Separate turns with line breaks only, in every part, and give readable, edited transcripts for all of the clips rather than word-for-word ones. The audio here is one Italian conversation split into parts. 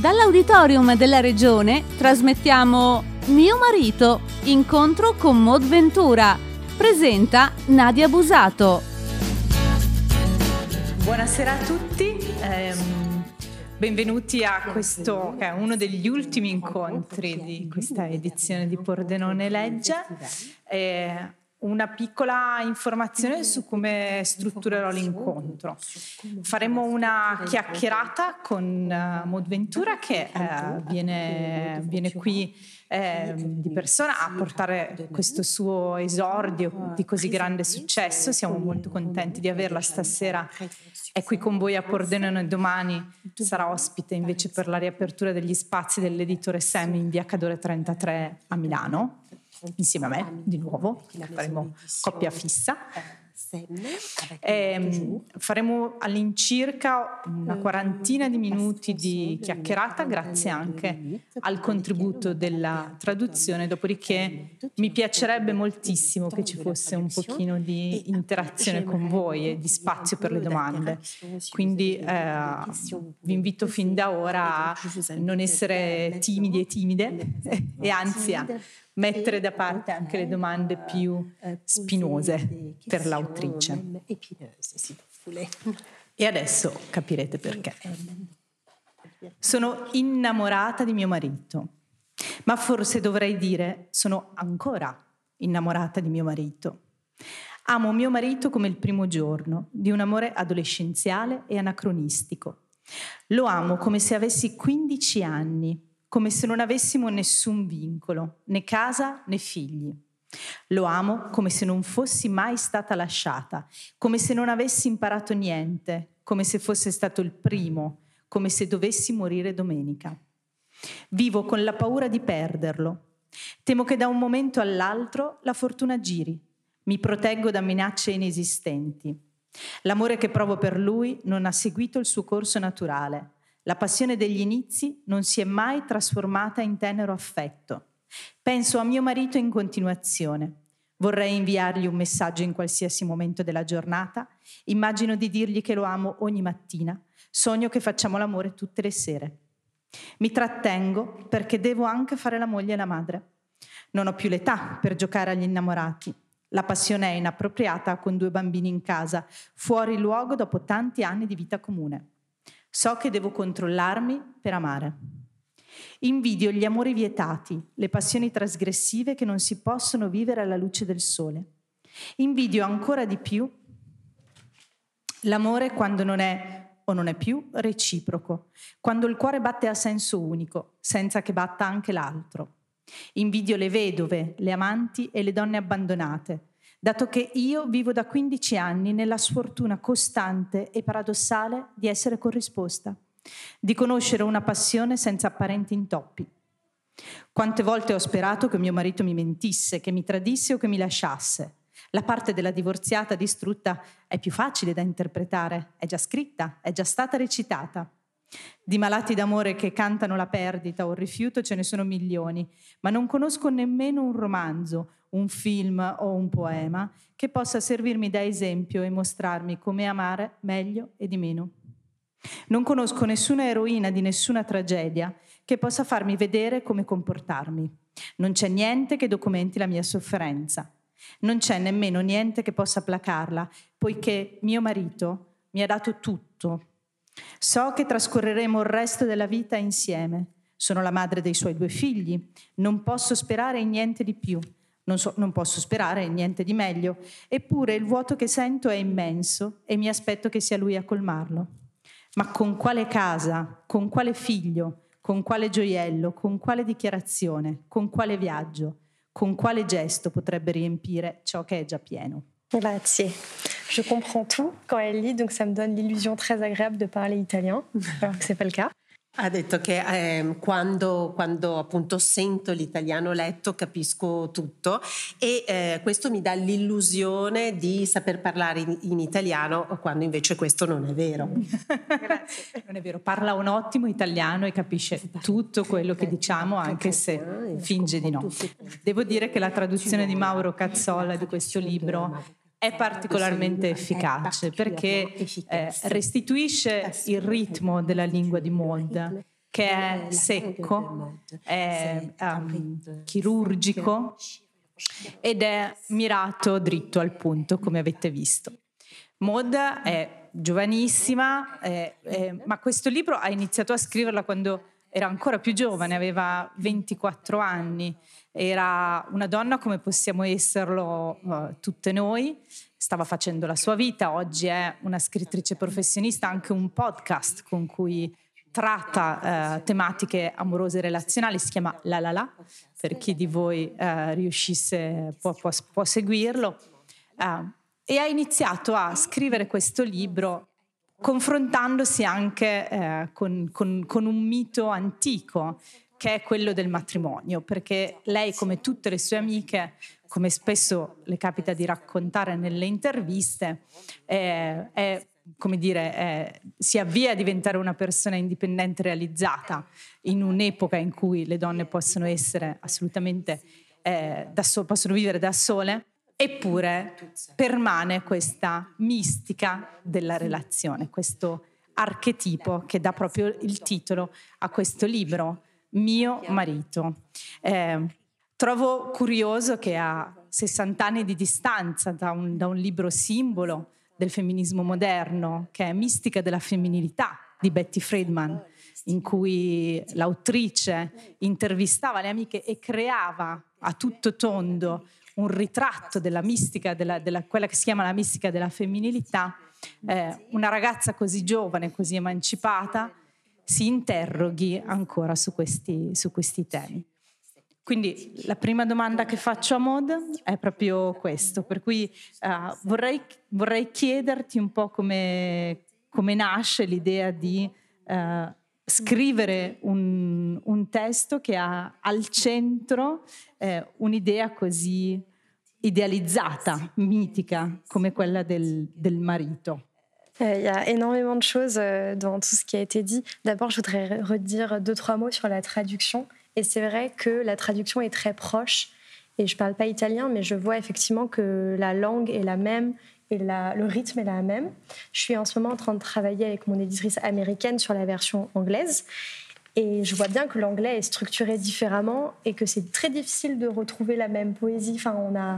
Dall'auditorium della Regione trasmettiamo Mio marito, incontro con Maud Ventura. Presenta Nadia Busato.
Buonasera a tutti, benvenuti a questo che è uno degli ultimi incontri di questa edizione di Pordenone Legge. Una piccola informazione su come strutturerò l'incontro. Faremo una chiacchierata con Maud Ventura che viene qui di persona a portare questo suo esordio di così grande successo. Siamo molto contenti di averla stasera. È qui con voi a Pordenone e domani sarà ospite invece per la riapertura degli spazi dell'editore Sem in via Cadore 33 a Milano. Insieme a me, di nuovo, faremo coppia fissa. Faremo all'incirca una quarantina di minuti di chiacchierata, grazie anche al contributo della traduzione, dopodiché mi piacerebbe moltissimo che ci fosse un pochino di interazione con voi e di spazio per le domande. Quindi vi invito fin da ora a non essere timidi e timide e anzi a mettere da parte anche le domande più spinose per l'autrice. E adesso capirete perché. Sono innamorata di mio marito, ma forse dovrei dire sono ancora innamorata di mio marito. Amo mio marito come il primo giorno, di un amore adolescenziale e anacronistico. Lo amo come se avessi 15 anni, come se non avessimo nessun vincolo, né casa né figli. Lo amo come se non fossi mai stata lasciata, come se non avessi imparato niente, come se fosse stato il primo, come se dovessi morire domenica. Vivo con la paura di perderlo. Temo che da un momento all'altro la fortuna giri. Mi proteggo da minacce inesistenti. L'amore che provo per lui non ha seguito il suo corso naturale. La passione degli inizi non si è mai trasformata in tenero affetto. Penso a mio marito in continuazione. Vorrei inviargli un messaggio in qualsiasi momento della giornata. Immagino di dirgli che lo amo ogni mattina. Sogno che facciamo l'amore tutte le sere. Mi trattengo perché devo anche fare la moglie e la madre. Non ho più l'età per giocare agli innamorati. La passione è inappropriata con 2 bambini in casa, fuori luogo dopo tanti anni di vita comune. So che devo controllarmi per amare. Invidio gli amori vietati, le passioni trasgressive che non si possono vivere alla luce del sole. Invidio ancora di più l'amore quando non è o non è più reciproco, quando il cuore batte a senso unico, senza che batta anche l'altro. Invidio le vedove, le amanti e le donne abbandonate, dato che io vivo da 15 anni nella sfortuna costante e paradossale di essere corrisposta, di conoscere una passione senza apparenti intoppi. Quante volte ho sperato che mio marito mi mentisse, che mi tradisse o che mi lasciasse. La parte della divorziata distrutta è più facile da interpretare, è già scritta, è già stata recitata. Di malati d'amore che cantano la perdita o il rifiuto ce ne sono milioni, ma non conosco nemmeno un romanzo, un film o un poema che possa servirmi da esempio e mostrarmi come amare meglio e di meno. Non conosco nessuna eroina di nessuna tragedia che possa farmi vedere come comportarmi. Non c'è niente che documenti la mia sofferenza. Non c'è nemmeno niente che possa placarla, poiché mio marito mi ha dato tutto. So che trascorreremo il resto della vita insieme. Sono la madre dei suoi 2 figli. Non posso sperare in niente di più. Non posso sperare in niente di meglio. Eppure il vuoto che sento è immenso e mi aspetto che sia lui a colmarlo. Ma con quale casa, con quale figlio, con quale gioiello, con quale dichiarazione, con quale viaggio, con quale gesto potrebbe riempire ciò che è già pieno?
Grazie. Je comprends tout quand elle lit, donc ça me donne l'illusion très agréable de parler italien, alors que c'est pas le cas.
Ha detto che quando appunto sento l'italiano letto capisco tutto e questo mi dà l'illusione di saper parlare in italiano quando invece questo non è vero.
Grazie. Non è vero, parla un ottimo italiano e capisce tutto quello che diciamo anche se finge di no. Devo dire che la traduzione di Mauro Cazzola di questo libro è particolarmente efficace perché restituisce il ritmo della lingua di Maud che è secco, è chirurgico ed è mirato dritto al punto, come avete visto. Maud è giovanissima, ma questo libro ha iniziato a scriverla quando era ancora più giovane, aveva 24 anni, era una donna come possiamo esserlo tutte noi, stava facendo la sua vita, oggi è una scrittrice professionista, anche un podcast con cui tratta tematiche amorose e relazionali, si chiama La La La, per chi di voi riuscisse, può seguirlo, e ha iniziato a scrivere questo libro confrontandosi anche con un mito antico, che è quello del matrimonio, perché lei, come tutte le sue amiche, come spesso le capita di raccontare nelle interviste, si avvia a diventare una persona indipendente e realizzata in un'epoca in cui le donne possono essere assolutamente possono vivere da sole, eppure permane questa mistica della relazione, questo archetipo che dà proprio il titolo a questo libro, Mio marito. Trovo curioso che a 60 anni di distanza da un libro simbolo del femminismo moderno, che è Mistica della femminilità di Betty Friedan, in cui l'autrice intervistava le amiche e creava a tutto tondo un ritratto della mistica, quella che si chiama la mistica della femminilità, una ragazza così giovane, così emancipata, si interroghi ancora su questi temi. Quindi la prima domanda che faccio a Maud è proprio questo, per cui vorrei chiederti un po' come nasce l'idea di scrivere un testo che ha al centro un'idea così idealizzata, mitica, come quella del marito.
Il y a énormément de choses dans tout ce qui a été dit. D'abord, je voudrais redire 2-3 mots sur la traduction. Et c'est vrai que la traduction est très proche. Et je ne parle pas italien, mais je vois effectivement que la langue est la même et le rythme est la même. Je suis en ce moment en train de travailler avec mon éditrice américaine sur la version anglaise. Et je vois bien que l'anglais est structuré différemment et que c'est très difficile de retrouver la même poésie. Enfin,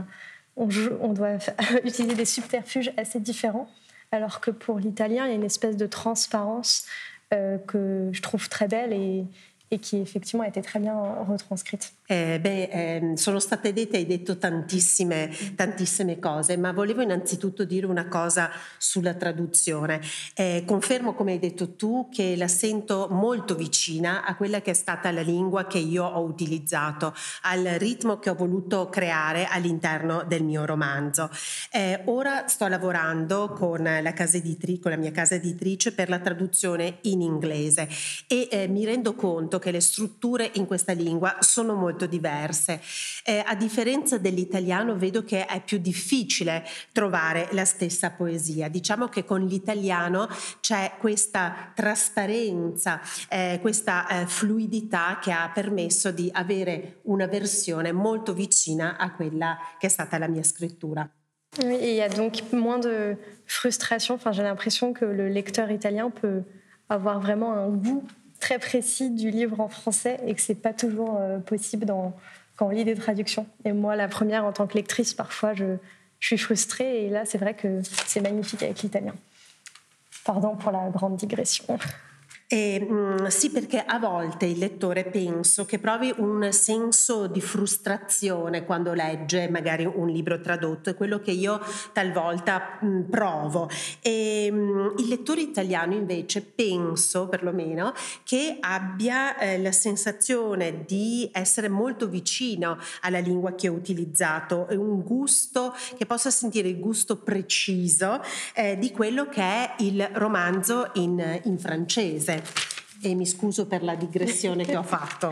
on doit utiliser des subterfuges assez différents. Alors que pour l'italien, il y a une espèce de transparence que je trouve très belle e che effettivamente ha été très bien retranscrite.
Sono state dette, hai detto tantissime cose, ma volevo innanzitutto dire una cosa sulla traduzione. Confermo, come hai detto tu, che la sento molto vicina a quella che è stata la lingua che io ho utilizzato, al ritmo che ho voluto creare all'interno del mio romanzo. Ora sto lavorando con la mia casa editrice per la traduzione in inglese e mi rendo conto che le strutture in questa lingua sono molto diverse. A differenza dell'italiano vedo che è più difficile trovare la stessa poesia. Diciamo che con l'italiano c'è questa trasparenza, questa fluidità che ha permesso di avere una versione molto vicina a quella che è stata la mia scrittura.
Oui, et il y a donc moins de frustration. Enfin, j'ai l'impression que le lecteur italien peut avoir vraiment un goût très précis du livre en français et que c'est pas toujours possible quand on lit des traductions. Et moi, la première, en tant que lectrice, parfois, je suis frustrée et là, c'est vrai que c'est magnifique avec l'italien. Pardon pour la grande digression.
Sì, perché a volte il lettore penso che provi un senso di frustrazione quando legge magari un libro tradotto, è quello che io talvolta provo, e il lettore italiano invece penso perlomeno che abbia la sensazione di essere molto vicino alla lingua che ho utilizzato, un gusto, che possa sentire il gusto preciso di quello che è il romanzo in francese. Et mi scuso per la digressione che ho fatto.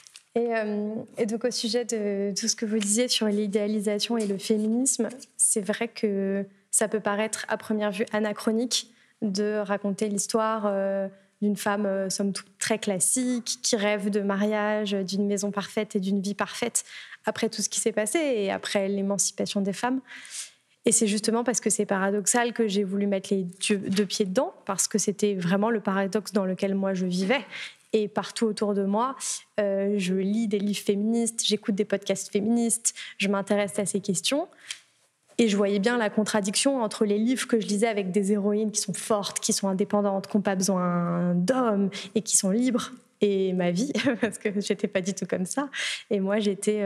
Et donc au sujet de tout ce que vous disiez sur l'idéalisation et le féminisme, c'est vrai que ça peut paraître à première vue anachronique de raconter l'histoire d'une femme somme toute très classique, qui rêve de mariage, d'une maison parfaite et d'une vie parfaite après tout ce qui s'est passé et après l'émancipation des femmes. Et c'est justement parce que c'est paradoxal que j'ai voulu mettre les deux pieds dedans, parce que c'était vraiment le paradoxe dans lequel moi je vivais Et partout autour de moi, je lis des livres féministes, j'écoute des podcasts féministes, je m'intéresse à ces questions. Et je voyais bien la contradiction entre les livres que je lisais avec des héroïnes qui sont fortes, qui sont indépendantes, qui n'ont pas besoin d'hommes et qui sont libres, et ma vie, parce que j'étais pas du tout comme ça. Et moi, j'étais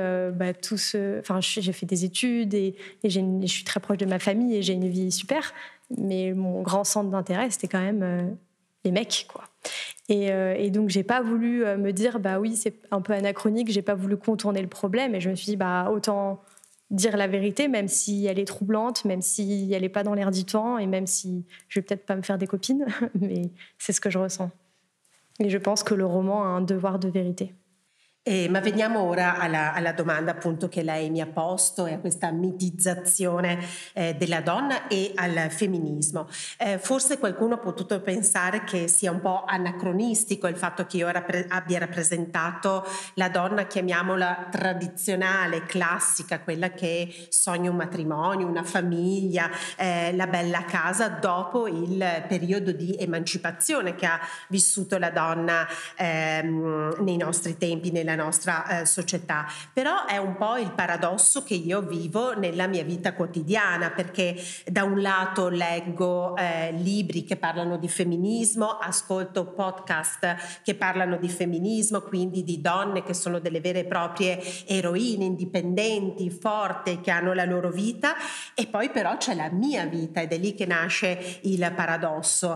j'ai fait des études et je suis très proche de ma famille et j'ai une vie super. Mais mon grand centre d'intérêt, c'était quand même les mecs, quoi. Et donc, j'ai pas voulu me dire, oui, c'est un peu anachronique, j'ai pas voulu contourner le problème. Et je me suis dit, autant dire la vérité, même si elle est troublante, même si elle est pas dans l'air du temps, et même si je vais peut-être pas me faire des copines, mais c'est ce que je ressens. E je pense che il roman ha un devoir de vérité.
Ma veniamo ora alla domanda appunto che lei mi ha posto e a questa mitizzazione della donna e al femminismo. Forse qualcuno ha potuto pensare che sia un po' anacronistico il fatto che io abbia rappresentato la donna, chiamiamola tradizionale, classica, quella che sogna un matrimonio, una famiglia, la bella casa, dopo il periodo di emancipazione che ha vissuto la donna nei nostri tempi, nella nostra società. Però è un po' il paradosso che io vivo nella mia vita quotidiana, perché da un lato leggo libri che parlano di femminismo, ascolto podcast che parlano di femminismo, quindi di donne che sono delle vere e proprie eroine, indipendenti, forti, che hanno la loro vita, e poi però c'è la mia vita ed è lì che nasce il paradosso.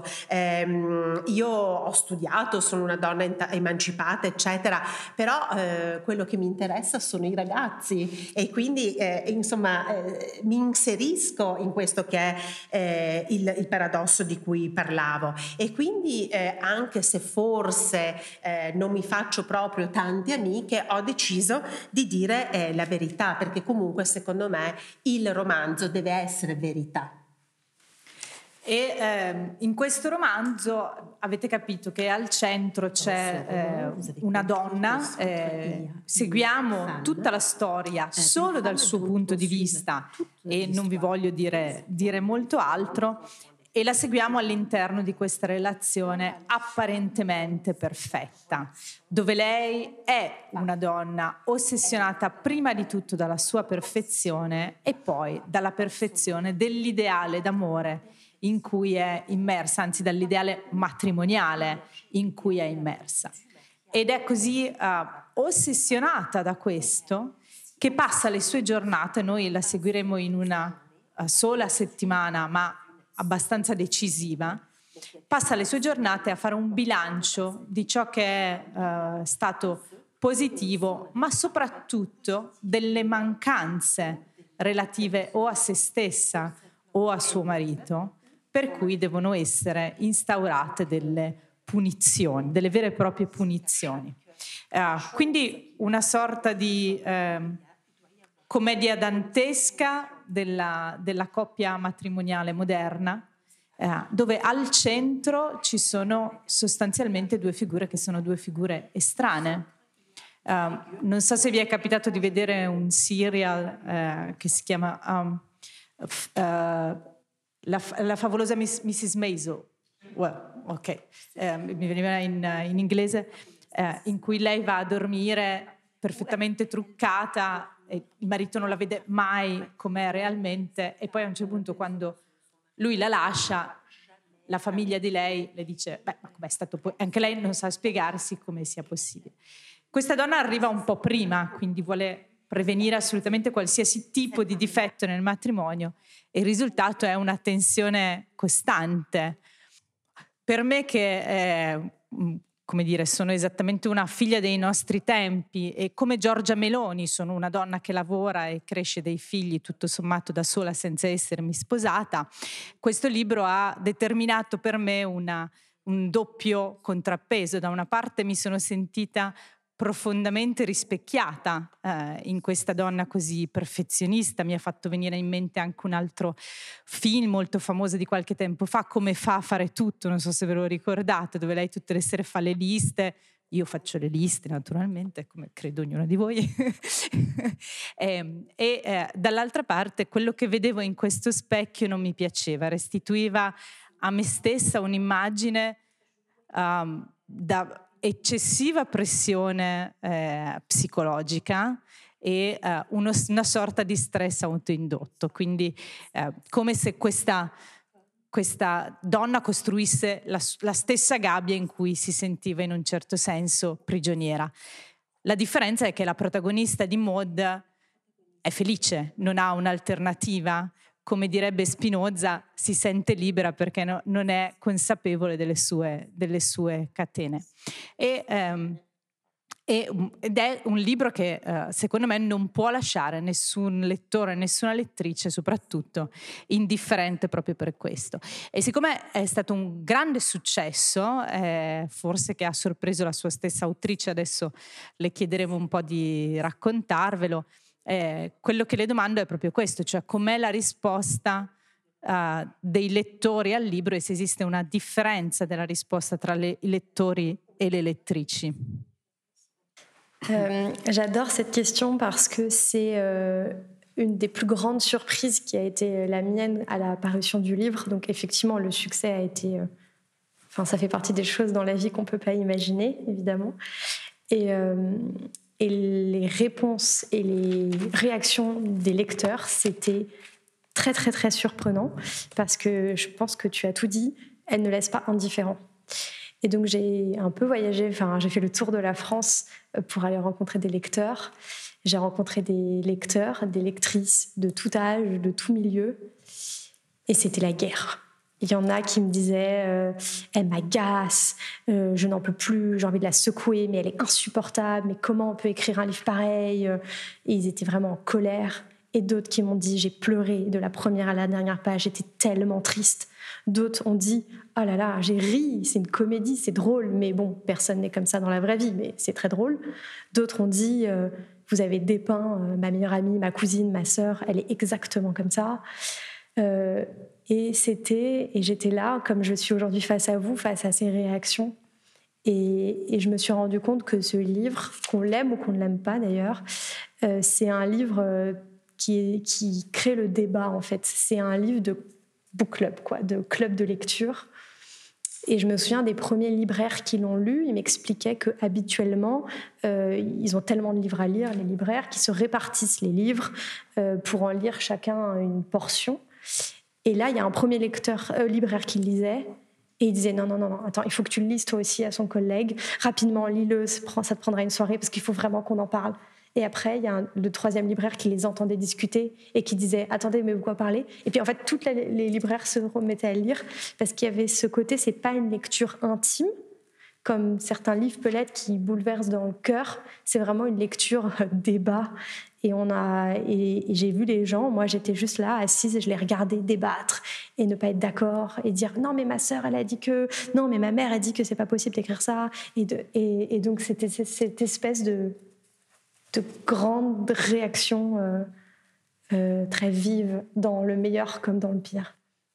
Io ho studiato, sono una donna emancipata, eccetera, però quello che mi interessa sono i ragazzi e quindi mi inserisco in questo che è il paradosso di cui parlavo, e quindi anche se forse non mi faccio proprio tante amiche, ho deciso di dire la verità, perché comunque secondo me il romanzo deve essere verità.
E in questo romanzo avete capito che al centro c'è una donna, seguiamo tutta la storia solo dal suo punto di vista e non vi voglio dire molto altro, e la seguiamo all'interno di questa relazione apparentemente perfetta, dove lei è una donna ossessionata prima di tutto dalla sua perfezione e poi dalla perfezione dell'ideale d'amore in cui è immersa, anzi dall'ideale matrimoniale in cui è immersa. Ed è così ossessionata da questo che passa le sue giornate, noi la seguiremo in una sola settimana, ma abbastanza decisiva, passa le sue giornate a fare un bilancio di ciò che è stato positivo, ma soprattutto delle mancanze relative o a se stessa o a suo marito, per cui devono essere instaurate delle punizioni, delle vere e proprie punizioni. Quindi una sorta di commedia dantesca della coppia matrimoniale moderna, dove al centro ci sono sostanzialmente due figure che sono due figure estranee. Non so se vi è capitato di vedere un serial che si chiama la favolosa Mrs. Maisel, mi veniva in inglese, in cui lei va a dormire perfettamente truccata e il marito non la vede mai com'è realmente, e poi a un certo punto, quando lui la lascia, la famiglia di lei le dice ma com'è stato anche lei non sa spiegarsi come sia possibile. Questa donna arriva un po' prima, quindi vuole prevenire assolutamente qualsiasi tipo di difetto nel matrimonio, e il risultato è una tensione costante. Per me, che sono esattamente una figlia dei nostri tempi, e come Giorgia Meloni sono una donna che lavora e cresce dei figli tutto sommato da sola senza essermi sposata, questo libro ha determinato per me un doppio contrappeso. Da una parte mi sono sentita profondamente rispecchiata in questa donna così perfezionista. Mi ha fatto venire in mente anche un altro film molto famoso di qualche tempo fa, Come fa a fare tutto, non so se ve lo ricordate, dove lei tutte le sere fa le liste. Io faccio le liste naturalmente, come credo ognuno di voi. Dall'altra parte quello che vedevo in questo specchio non mi piaceva, restituiva a me stessa un'immagine eccessiva pressione psicologica e una sorta di stress autoindotto, quindi come se questa donna costruisse la stessa gabbia in cui si sentiva in un certo senso prigioniera. La differenza è che la protagonista di Maud è felice, non ha un'alternativa, come direbbe Spinoza, si sente libera perché non è consapevole delle sue catene. Ed è un libro che secondo me non può lasciare nessun lettore, nessuna lettrice soprattutto indifferente proprio per questo. E siccome è stato un grande successo, forse che ha sorpreso la sua stessa autrice, adesso le chiederemo un po' di raccontarvelo, quello che le domando è proprio questo, cioè com'è la risposta dei lettori al libro e se esiste una differenza della risposta tra i lettori et les lettrici.
J'adore cette question parce que c'est une des plus grandes surprises qui a été la mienne à la parution du livre. Donc effectivement, le succès a été... ça fait partie des choses dans la vie qu'on ne peut pas imaginer, évidemment. Et les réponses et les réactions des lecteurs, c'était très, très, très surprenant parce que je pense que tu as tout dit, elle ne laisse pas indifférent. Et donc j'ai un peu voyagé, j'ai fait le tour de la France pour aller rencontrer des lecteurs. J'ai rencontré des lecteurs, des lectrices de tout âge, de tout milieu. Et c'était la guerre. Il y en a qui me disaient elle m'agace, je n'en peux plus, j'ai envie de la secouer, mais elle est insupportable, mais comment on peut écrire un livre pareil? Et ils étaient vraiment en colère. Et d'autres qui m'ont dit j'ai pleuré de la première à la dernière page, j'étais tellement triste. D'autres ont dit oh là là, j'ai ri, c'est une comédie, c'est drôle, mais bon, personne n'est comme ça dans la vraie vie, mais c'est très drôle. D'autres ont dit vous avez dépeint ma meilleure amie, ma cousine, ma sœur, elle est exactement comme ça. Et j'étais là, comme je suis aujourd'hui face à vous, face à ces réactions. Et je me suis rendu compte que ce livre, qu'on l'aime ou qu'on ne l'aime pas d'ailleurs, c'est un livre qui crée le débat en fait. C'est un livre de book club, de club de lecture. Et je me souviens des premiers libraires qui l'ont lu, ils m'expliquaient qu'habituellement, ils ont tellement de livres à lire, les libraires, qui se répartissent les livres pour en lire chacun une portion. Et là, il y a un premier libraire qui lisait, et il disait non, attends, il faut que tu le lises toi aussi à son collègue. Rapidement, lis-le, ça te prendra une soirée parce qu'il faut vraiment qu'on en parle. Et après, il y a le troisième libraire qui les entendait discuter et qui disait « Attendez, mais pourquoi parler ?» Et puis en fait, tous les libraires se remettaient à lire parce qu'il y avait ce côté, c'est pas une lecture intime, comme certains livres peut l'être qui bouleversent dans le cœur. C'est vraiment une lecture débat. Et j'ai vu les gens, moi j'étais juste là, assise, et je les regardais débattre et ne pas être d'accord et dire « Non, mais ma sœur, elle a dit que... Non, mais ma mère a dit que c'est pas possible d'écrire ça. » Et donc, c'était cette espèce de grandes réactions très vive dans le meilleur comme dans le pire.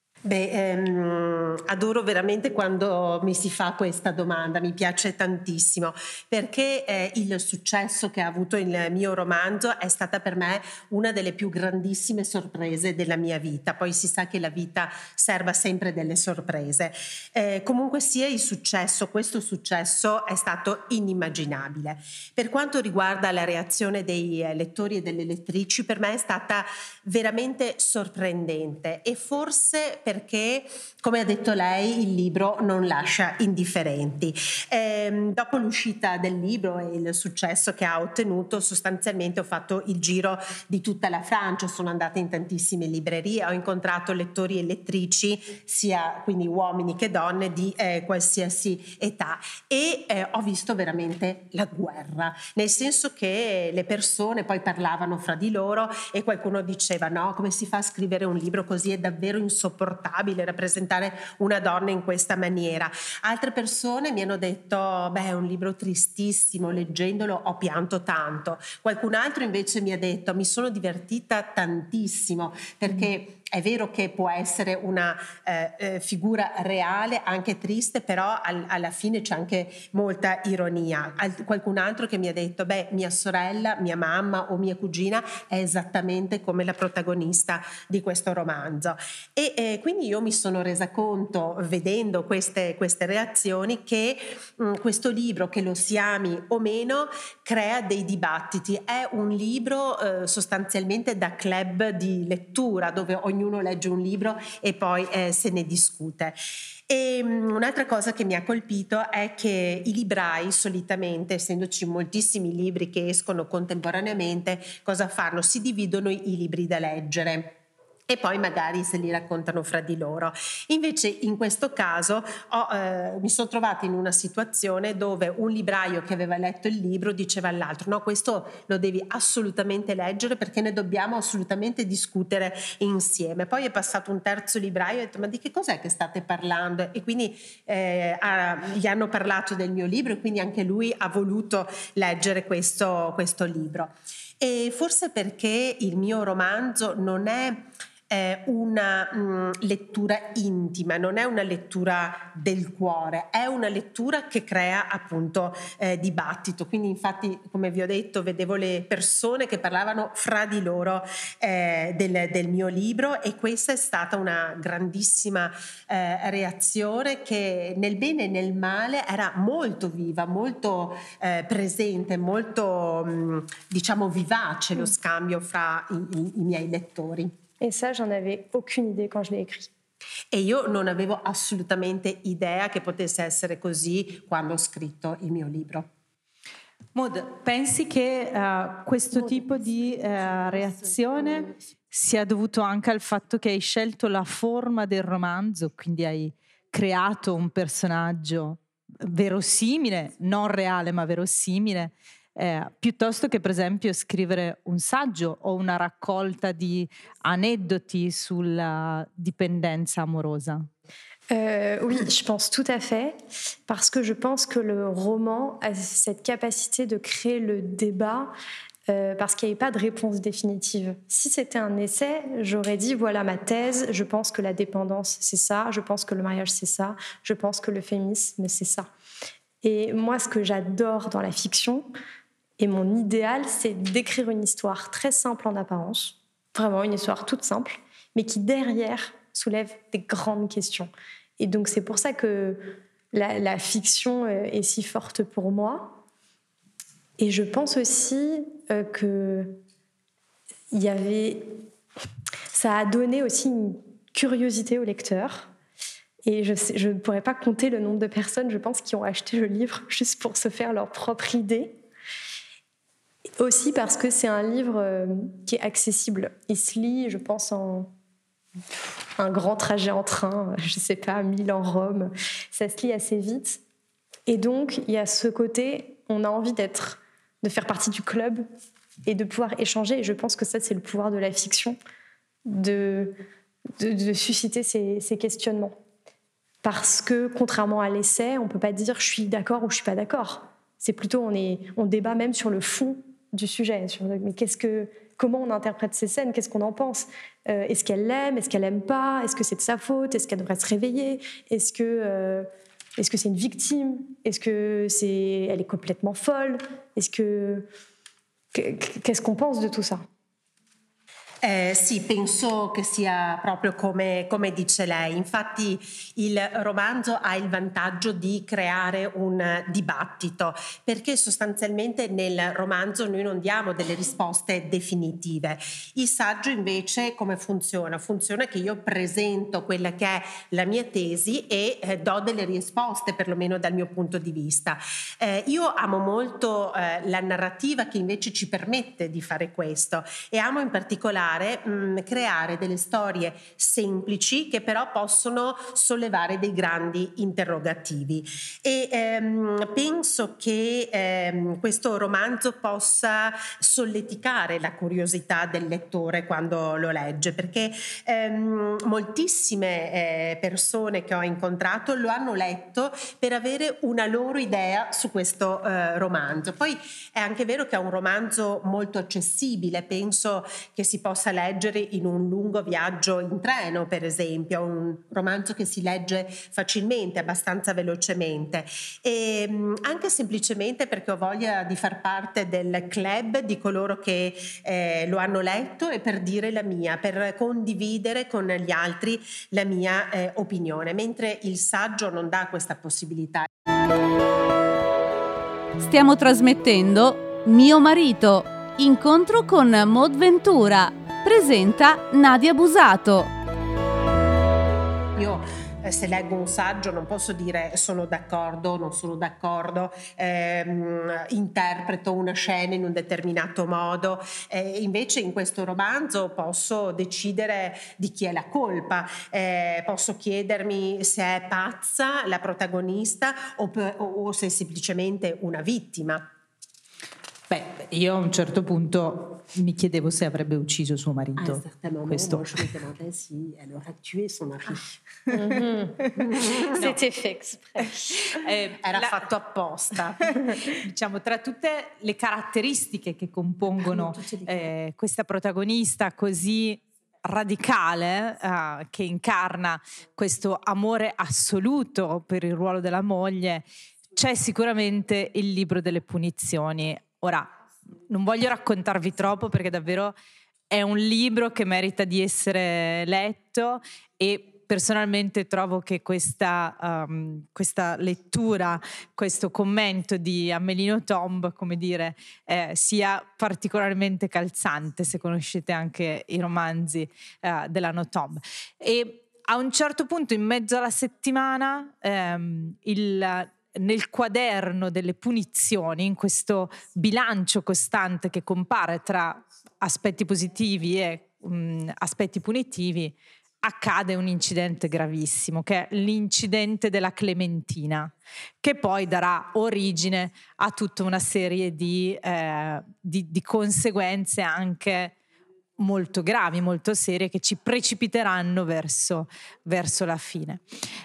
Adoro veramente quando mi si fa questa domanda, mi piace tantissimo perché il successo che ha avuto il mio romanzo è stata per me una delle più grandissime sorprese della mia vita. Poi si sa che la vita serva sempre delle sorprese. Comunque sia, questo successo è stato inimmaginabile. Per quanto riguarda la reazione dei lettori e delle lettrici, per me è stata veramente sorprendente e forse perché, come ha detto lei, il libro non lascia indifferenti. Dopo l'uscita del libro e il successo che ha ottenuto, sostanzialmente ho fatto il giro di tutta la Francia, sono andata in tantissime librerie, ho incontrato lettori e lettrici, sia quindi uomini che donne di qualsiasi età, e ho visto veramente la guerra, nel senso che le persone poi parlavano fra di loro e qualcuno diceva no, come si fa a scrivere un libro così, è davvero insopportabile rappresentare una donna in questa maniera. Altre persone mi hanno detto è un libro tristissimo, leggendolo ho pianto tanto. Qualcun altro invece mi ha detto mi sono divertita tantissimo perché è vero che può essere una figura reale, anche triste, però alla fine c'è anche molta ironia. Qualcun altro che mi ha detto, mia sorella, mia mamma o mia cugina è esattamente come la protagonista di questo romanzo. E quindi io mi sono resa conto, vedendo queste reazioni, che questo libro, che lo si ami o meno, crea dei dibattiti. È un libro sostanzialmente da club di lettura, dove ognuno legge un libro e poi se ne discute. E un'altra cosa che mi ha colpito è che i librai solitamente, essendoci moltissimi libri che escono contemporaneamente, cosa fanno? Si dividono i libri da leggere e poi magari se li raccontano fra di loro. Invece in questo caso mi sono trovata in una situazione dove un libraio che aveva letto il libro diceva all'altro: no, questo lo devi assolutamente leggere perché ne dobbiamo assolutamente discutere insieme. Poi è passato un terzo libraio e ha detto: ma di che cos'è che state parlando? E quindi gli hanno parlato del mio libro e quindi anche lui ha voluto leggere questo libro. E forse perché il mio romanzo non è una lettura intima, non è una lettura del cuore, è una lettura che crea appunto dibattito. Quindi infatti, come vi ho detto, vedevo le persone che parlavano fra di loro del mio libro, e questa è stata una grandissima reazione che nel bene e nel male era molto viva, molto presente, molto diciamo vivace lo scambio fra i miei lettori.
Et ça, j'en avais aucune idée quand je l'ai écrit.
E io non avevo assolutamente idea che potesse essere così quando ho scritto il mio libro.
Maud, pensi che questo tipo di reazione sia dovuto anche al fatto che hai scelto la forma del romanzo, quindi hai creato un personaggio verosimile, non reale ma verosimile, piuttosto che per esempio scrivere un saggio o una raccolta di aneddoti sulla dipendenza amorosa?
Oui, je pense tout à fait, parce que je pense que le roman a cette capacité de créer le débat, parce qu'il n'y avait pas de réponse définitive. Si c'était un essai, j'aurais dit, voilà ma thèse, je pense que la dépendance, c'est ça, je pense que le mariage, c'est ça, je pense que le féminisme, c'est ça. Et moi, ce que j'adore dans la fiction, et mon idéal, c'est d'écrire une histoire très simple en apparence, vraiment une histoire toute simple, mais qui derrière soulève des grandes questions. Et donc c'est pour ça que la fiction est si forte pour moi. Et je pense aussi que ça a donné aussi une curiosité au lecteur. Et je ne pourrais pas compter le nombre de personnes, je pense, qui ont acheté le livre juste pour se faire leur propre idée. Aussi parce que c'est un livre qui est accessible. Il se lit, je pense, en un grand trajet en train, je ne sais pas, Milan-Rome. Ça se lit assez vite. Et donc, il y a ce côté, on a envie de faire partie du club et de pouvoir échanger. Et je pense que ça, c'est le pouvoir de la fiction, de susciter ces questionnements. Parce que, contrairement à l'essai, on ne peut pas dire je suis d'accord ou je ne suis pas d'accord. C'est plutôt, on débat même sur le fond du sujet. Mais comment on interprète ces scènes? Qu'est-ce qu'on en pense? Est-ce qu'elle l'aime? Est-ce qu'elle l'aime pas? Est-ce que c'est de sa faute? Est-ce qu'elle devrait se réveiller? Est-ce que c'est une victime? Est-ce que elle est complètement folle? Qu'est-ce qu'on pense de tout ça?
Sì, penso che sia proprio come dice lei. Infatti il romanzo ha il vantaggio di creare un dibattito, perché sostanzialmente nel romanzo noi non diamo delle risposte definitive. Il saggio invece come funziona? Funziona che io presento quella che è la mia tesi e do delle risposte, perlomeno dal mio punto di vista. Io amo molto la narrativa che invece ci permette di fare questo, e amo in particolare creare delle storie semplici che però possono sollevare dei grandi interrogativi, e penso che questo romanzo possa solleticare la curiosità del lettore quando lo legge, perché moltissime persone che ho incontrato lo hanno letto per avere una loro idea su questo romanzo. Poi è anche vero che è un romanzo molto accessibile, penso che si possa possa leggere in un lungo viaggio in treno, per esempio, un romanzo che si legge facilmente, abbastanza velocemente, e anche semplicemente perché ho voglia di far parte del club di coloro che lo hanno letto e per dire la mia, per condividere con gli altri la mia opinione, mentre il saggio non dà questa possibilità.
Stiamo trasmettendo Mio marito, incontro con Maud Ventura. Presenta Nadia Busato.
Io se leggo un saggio non posso dire sono d'accordo, non sono d'accordo, interpreto una scena in un determinato modo, invece in questo romanzo posso decidere di chi è la colpa, posso chiedermi se è pazza la protagonista o se è semplicemente una vittima.
Beh, io a un certo punto mi chiedevo se avrebbe ucciso suo marito.
À un certain moment,
Questo.
moi, je me demandais si elle aurait tué son mari.
C'était fait exprès.
Era fatto apposta.
Diciamo, tra tutte le caratteristiche che compongono questa protagonista così radicale, che incarna questo amore assoluto per il ruolo della moglie, c'è sicuramente il libro delle punizioni. Ora, non voglio raccontarvi troppo perché davvero è un libro che merita di essere letto e personalmente trovo che questa lettura, questo commento di Amélie Nothomb, come dire, sia particolarmente calzante, se conoscete anche i romanzi della Nothomb. E a un certo punto, in mezzo alla settimana, nel quaderno delle punizioni, in questo bilancio costante che compare tra aspetti positivi e aspetti punitivi, accade un incidente gravissimo, che è l'incidente della Clementina, che poi darà origine a tutta una serie di conseguenze anche molto gravi, molto serie, che ci precipiteranno verso la fine.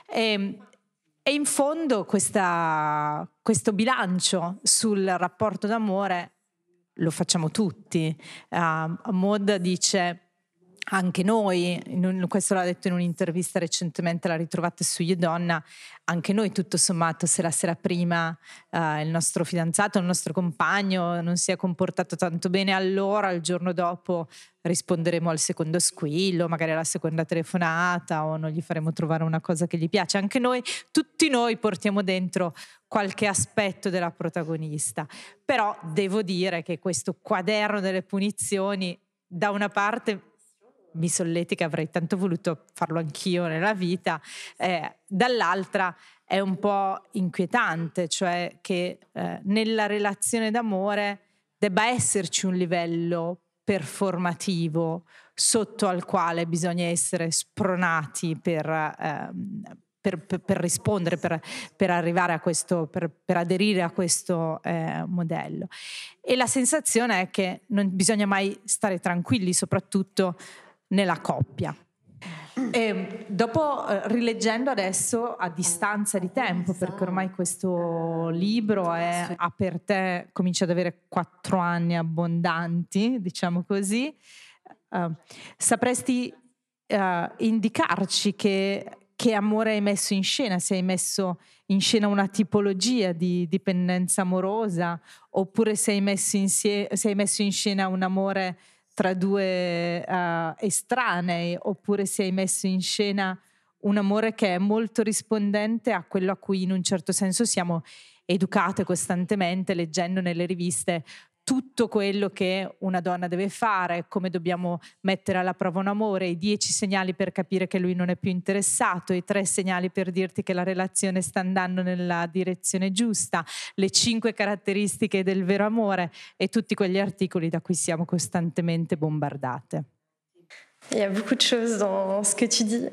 E in fondo questo bilancio sul rapporto d'amore lo facciamo tutti. Maud dice, anche noi, questo l'ha detto in un'intervista recentemente, la ritrovate su Io Donna, anche noi tutto sommato, se la sera prima il nostro fidanzato, il nostro compagno non si è comportato tanto bene, allora il giorno dopo risponderemo al secondo squillo, magari alla seconda telefonata, o non gli faremo trovare una cosa che gli piace. Anche noi, tutti noi portiamo dentro qualche aspetto della protagonista. Però devo dire che questo quaderno delle punizioni, da una parte mi solletica, avrei tanto voluto farlo anch'io nella vita, dall'altra è un po' inquietante, cioè che nella relazione d'amore debba esserci un livello performativo sotto al quale bisogna essere spronati per rispondere, per arrivare a questo, per aderire a questo modello. E la sensazione è che non bisogna mai stare tranquilli, soprattutto nella coppia. E dopo, rileggendo adesso a distanza di tempo, perché ormai questo libro ha per te, comincia ad avere 4 anni abbondanti, diciamo così, sapresti indicarci che amore hai messo in scena? Se hai messo in scena una tipologia di dipendenza amorosa, oppure se hai messo in scena un amore tra due estranei, oppure se hai messo in scena un amore che è molto rispondente a quello a cui in un certo senso siamo educate costantemente, leggendo nelle riviste tutto quello che una donna deve fare, come dobbiamo mettere alla prova un amore, i 10 segnali per capire che lui non è più interessato, i 3 segnali per dirti che la relazione sta andando nella direzione giusta, le 5 caratteristiche del vero amore e tutti quegli articoli da cui siamo costantemente bombardate.
Il y a beaucoup de choses dans ce que tu dis.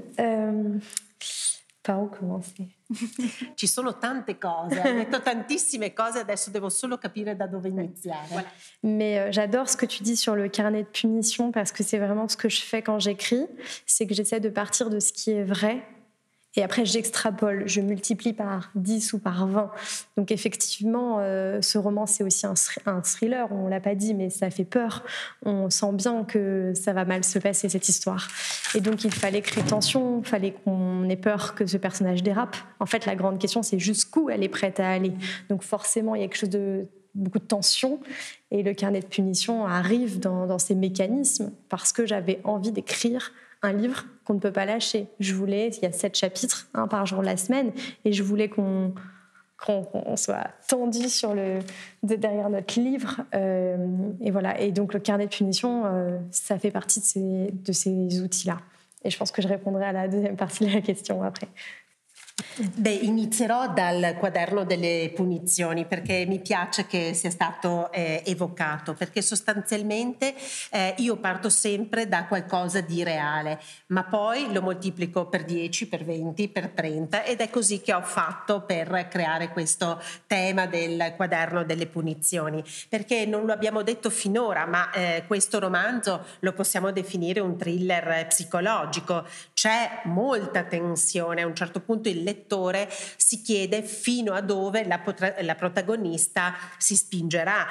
Par où commencer?
Ci sono tante cose, hai detto tantissime cose, adesso devo solo capire da dove iniziare.
Voilà. Mais j'adore ce que tu dis sur le carnet de punition, parce que c'est vraiment ce que je fais quand j'écris, c'est que j'essaie de partir de ce qui est vrai Et après, j'extrapole, je multiplie par 10 ou par 20. Donc effectivement, ce roman, c'est aussi un thriller, on ne l'a pas dit, mais ça fait peur. On sent bien que ça va mal se passer, cette histoire. Et donc, il fallait créer tension, il fallait qu'on ait peur que ce personnage dérape. En fait, la grande question, c'est jusqu'où elle est prête à aller. Donc forcément, il y a quelque chose de beaucoup de tension. Et le carnet de punition arrive dans ces mécanismes parce que j'avais envie d'écrire un livre qu'on ne peut pas lâcher. Il y a 7 chapitres, un par jour de la semaine, et je voulais qu'on soit tendu derrière notre livre. Et voilà. Et donc le carnet de punition, ça fait partie de ces outils-là. Et je pense que je répondrai à la deuxième partie de la question après.
Beh, inizierò dal quaderno delle punizioni perché mi piace che sia stato evocato, perché sostanzialmente io parto sempre da qualcosa di reale, ma poi lo moltiplico per 10, per 20, per 30 ed è così che ho fatto per creare questo tema del quaderno delle punizioni, perché non lo abbiamo detto finora, ma questo romanzo lo possiamo definire un thriller psicologico. C'è molta tensione, a un certo punto il lettore si chiede fino a dove la protagonista si spingerà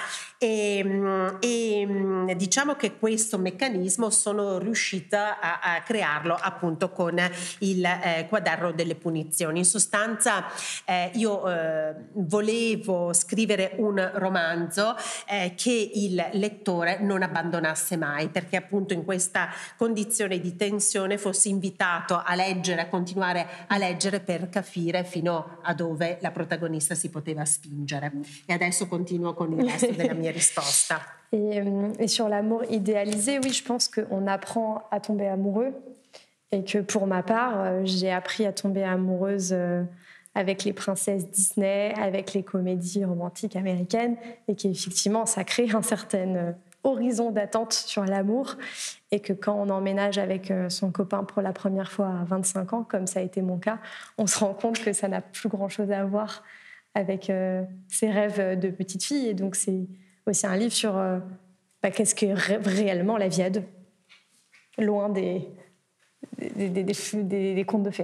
e diciamo che questo meccanismo sono riuscita a crearlo appunto con il quaderno delle punizioni. In sostanza io volevo scrivere un romanzo che il lettore non abbandonasse mai, perché appunto in questa condizione di tensione fosse invitato a leggere, a continuare a leggere per capire fino a dove la protagonista si poteva spingere. Et adesso continuo con il resto della mia risposta.
Et sur l'amour idéalisé, oui, je pense qu'on apprend à tomber amoureux et que pour ma part, j'ai appris à tomber amoureuse avec les princesses Disney, avec les comédies romantiques américaines et qu'effectivement, ça crée un certain horizon d'attente sur l'amour et que quand on emménage avec son copain pour la première fois à 25 ans, comme ça a été mon cas, on se rend compte que ça n'a plus grand-chose à voir avec ses rêves de petite fille. Et donc, c'est aussi un livre sur qu'est-ce que réellement la vie à deux, loin des contes de fées.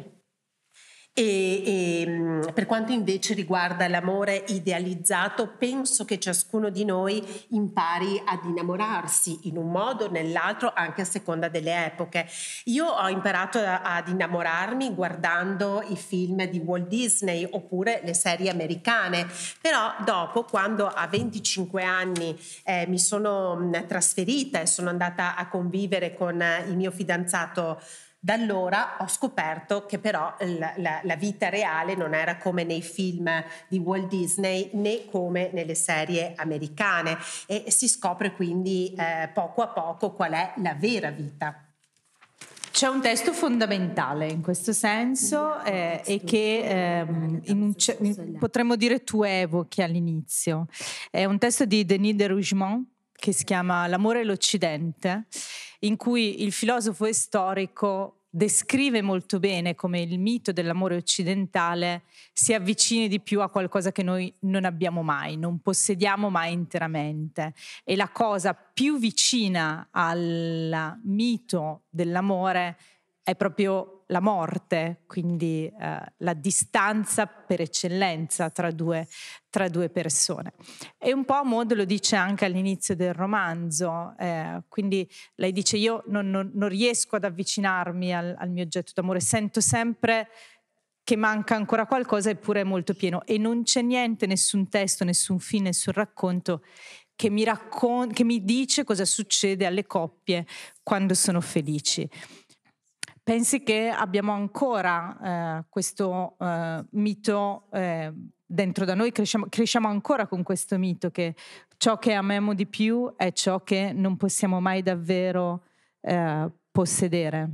E per quanto invece riguarda l'amore idealizzato, penso che ciascuno di noi impari ad innamorarsi in un modo o nell'altro, anche a seconda delle epoche. Io ho imparato ad innamorarmi guardando i film di Walt Disney oppure le serie americane, però dopo, quando a 25 anni mi sono trasferita e sono andata a convivere con il mio fidanzato, da allora ho scoperto che però la vita reale non era come nei film di Walt Disney né come nelle serie americane e si scopre quindi poco a poco qual è la vera vita.
C'è un testo fondamentale in questo senso e che potremmo dire tu evochi all'inizio. È un testo di Denis de Rougemont che si chiama L'amore e l'Occidente, in cui il filosofo e storico descrive molto bene come il mito dell'amore occidentale si avvicini di più a qualcosa che noi non abbiamo mai, non possediamo mai interamente. E la cosa più vicina al mito dell'amore è proprio la morte, quindi la distanza per eccellenza tra due persone. E un po' Maud lo dice anche all'inizio del romanzo, quindi lei dice io non riesco ad avvicinarmi al mio oggetto d'amore, sento sempre che manca ancora qualcosa eppure è molto pieno e non c'è niente, nessun testo, nessun film, nessun racconto che mi dice cosa succede alle coppie quando sono felici. Pensi che abbiamo ancora questo mito dentro da noi, cresciamo ancora con questo mito che ciò che amiamo di più è ciò che non possiamo mai davvero possedere.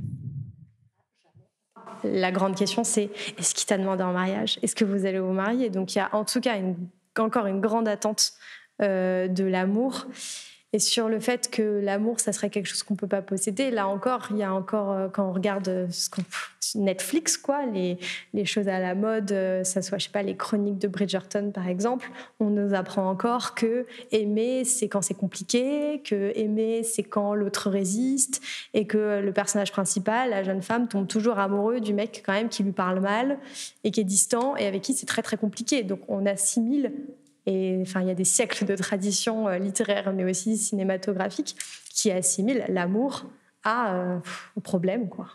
La grande question, c'est est-ce qu'il t'a demandé en mariage? Est-ce que vous allez vous marier? Donc il y a en tout cas encore une grande attente de l'amour. Et sur le fait que l'amour, ça serait quelque chose qu'on ne peut pas posséder, là encore, il y a encore, quand on regarde Netflix, quoi, les choses à la mode, ça soit, je sais pas, les chroniques de Bridgerton, par exemple, on nous apprend encore que aimer, c'est quand c'est compliqué, que aimer, c'est quand l'autre résiste, et que le personnage principal, la jeune femme, tombe toujours amoureux du mec quand même qui lui parle mal et qui est distant et avec qui c'est très très compliqué. Donc on assimile. Et enfin, il y a des siècles de tradition littéraire, mais aussi cinématographique, qui assimilent l'amour au problème, quoi.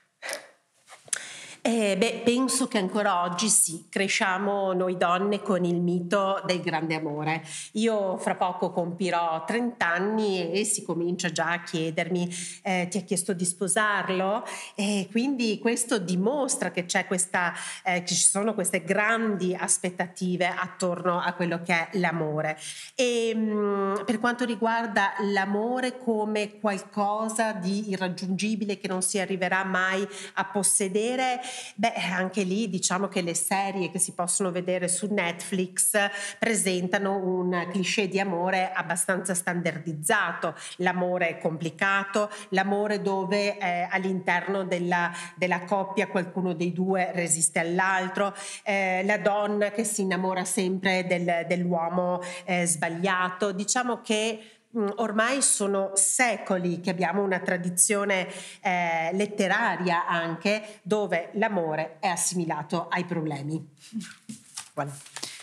Penso che ancora oggi sì, cresciamo noi donne con il mito del grande amore. Io fra poco compirò 30 anni e si comincia già a chiedermi ti ha chiesto di sposarlo? E quindi questo dimostra che c'è che ci sono queste grandi aspettative attorno a quello che è l'amore. E per quanto riguarda l'amore come qualcosa di irraggiungibile che non si arriverà mai a possedere, anche lì diciamo che le serie che si possono vedere su Netflix presentano un cliché di amore abbastanza standardizzato. L'amore è complicato, l'amore dove all'interno della coppia qualcuno dei due resiste all'altro, la donna che si innamora sempre dell'uomo sbagliato. Diciamo che ormai sono secoli che abbiamo una tradizione letteraria anche dove l'amore è assimilato ai problemi. Voilà.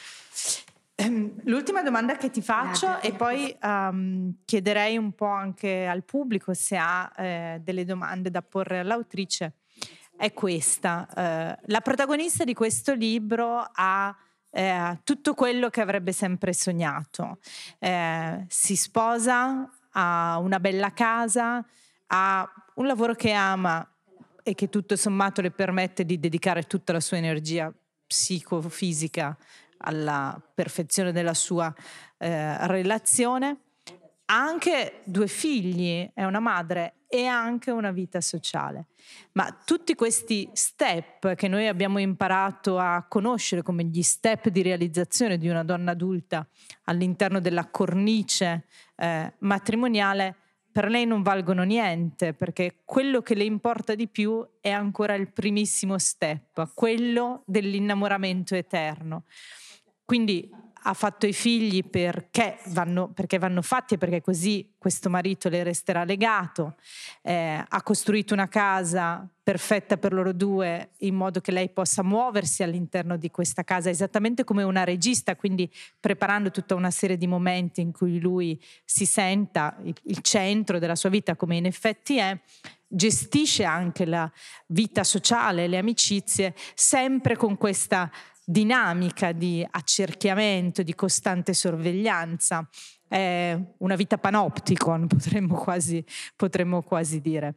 L'ultima domanda che ti faccio e poi chiederei un po' anche al pubblico se ha delle domande da porre all'autrice è questa. La protagonista di questo libro ha tutto quello che avrebbe sempre sognato. Si sposa, ha una bella casa, ha un lavoro che ama e che tutto sommato le permette di dedicare tutta la sua energia psicofisica alla perfezione della sua relazione. Ha anche 2 figli, è una madre e anche una vita sociale. Ma tutti questi step che noi abbiamo imparato a conoscere come gli step di realizzazione di una donna adulta all'interno della cornice matrimoniale, per lei non valgono niente, perché quello che le importa di più è ancora il primissimo step, quello dell'innamoramento eterno. Quindi ha fatto i figli perché vanno fatti e perché così questo marito le resterà legato, ha costruito una casa perfetta per loro due in modo che lei possa muoversi all'interno di questa casa esattamente come una regista, quindi preparando tutta una serie di momenti in cui lui si senta il centro della sua vita come in effetti è. Gestisce anche la vita sociale, le amicizie, sempre con questa dinamica di accerchiamento, di costante sorveglianza, una vita panopticon potremmo quasi dire.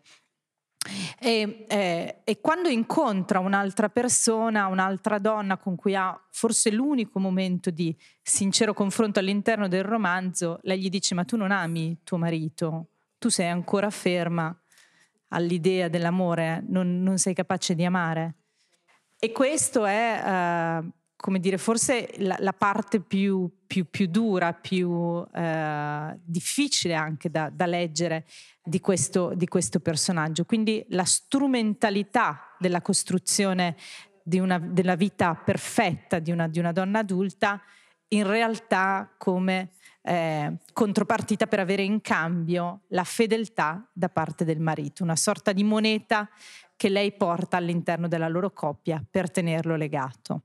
E quando incontra un'altra persona, un'altra donna con cui ha forse l'unico momento di sincero confronto all'interno del romanzo, lei gli dice: ma tu non ami tuo marito, tu sei ancora ferma all'idea dell'amore, non sei capace di amare. E questo è, come dire, forse la parte più dura, più difficile anche da leggere di questo personaggio. Quindi la strumentalità della costruzione della vita perfetta di una donna adulta, in realtà come contropartita per avere in cambio la fedeltà da parte del marito, una sorta di moneta che lei porta all'interno della loro coppia per tenerlo legato.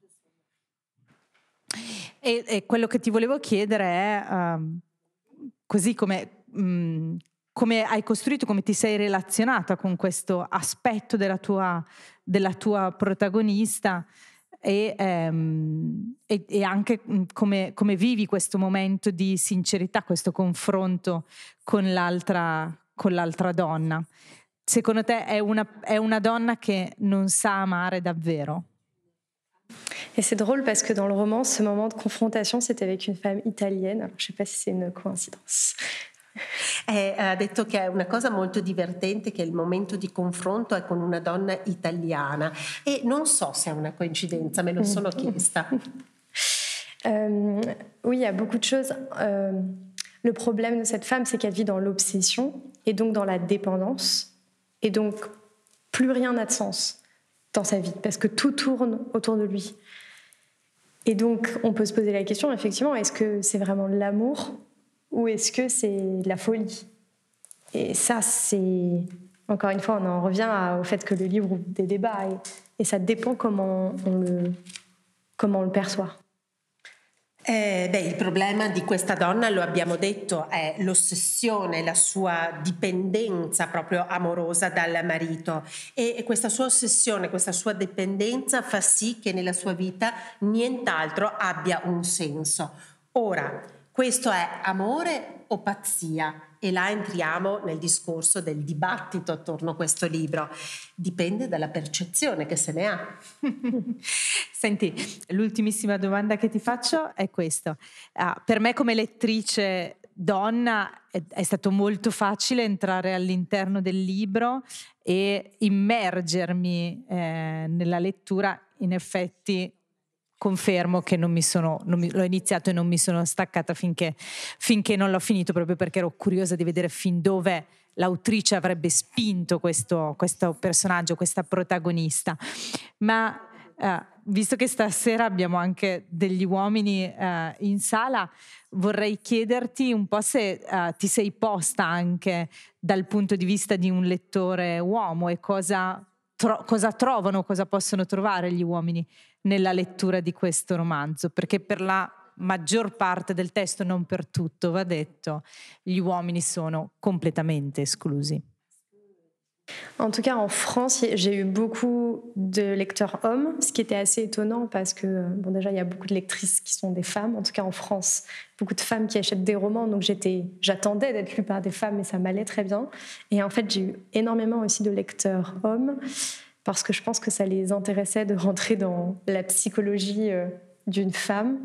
E quello che ti volevo chiedere è così come hai costruito, come ti sei relazionata con questo aspetto della tua protagonista e anche come vivi questo momento di sincerità, questo confronto con l'altra donna. Secondo te è una donna che non sa amare davvero?
Et c'est drôle parce que dans le roman, ce moment de confrontation, c'était avec une femme italienne. Alors, je ne sais pas si c'est une coïncidence.
Ha detto che è una cosa molto divertente che il momento di confronto è con una donna italiana e non so se è una coincidenza, me lo sono chiesta.
Oui, il y a beaucoup de choses. Le problème de cette femme, c'est qu'elle vit dans l'obsession et donc dans la dépendance. Et donc, plus rien n'a de sens dans sa vie parce que tout tourne autour de lui. Et donc, on peut se poser la question, effectivement, est-ce que c'est vraiment de l'amour ou est-ce que c'est de la folie ? Et ça, c'est... Encore une fois, on en revient au fait que le livre ouvre des débats et ça dépend comment on le perçoit.
Il problema di questa donna, lo abbiamo detto, è l'ossessione, la sua dipendenza proprio amorosa dal marito, e questa sua ossessione, questa sua dipendenza fa sì che nella sua vita nient'altro abbia un senso. Ora, questo è amore o pazzia? E là entriamo nel discorso del dibattito attorno a questo libro. Dipende dalla percezione che se ne ha.
Senti, l'ultimissima domanda che ti faccio è questa. Per me come lettrice donna è stato molto facile entrare all'interno del libro e immergermi nella lettura. In effetti confermo che l'ho iniziato e non mi sono staccata finché non l'ho finito, proprio perché ero curiosa di vedere fin dove l'autrice avrebbe spinto questo personaggio, questa protagonista. Ma visto che stasera abbiamo anche degli uomini in sala, vorrei chiederti un po' se ti sei posta anche dal punto di vista di un lettore uomo e cosa trovano, cosa possono trovare gli uomini nella lettura di questo romanzo, perché per la maggior parte del testo, non per tutto, va detto, gli uomini sono complètement esclusi.
En tout cas, en France, j'ai eu beaucoup de lecteurs hommes, ce qui était assez étonnant parce que, bon, déjà, il y a beaucoup de lectrices qui sont des femmes, en tout cas en France, beaucoup de femmes qui achètent des romans, donc j'attendais d'être lue par des femmes et ça m'allait très bien. Et en fait, j'ai eu énormément aussi de lecteurs hommes parce que je pense que ça les intéressait de rentrer dans la psychologie d'une femme.